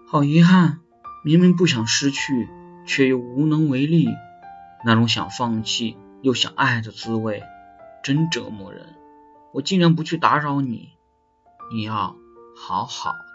好遗憾，明明不想失去，却又无能为力，那种想放弃又想爱的滋味，真折磨人。我尽量不去打扰你，你要好好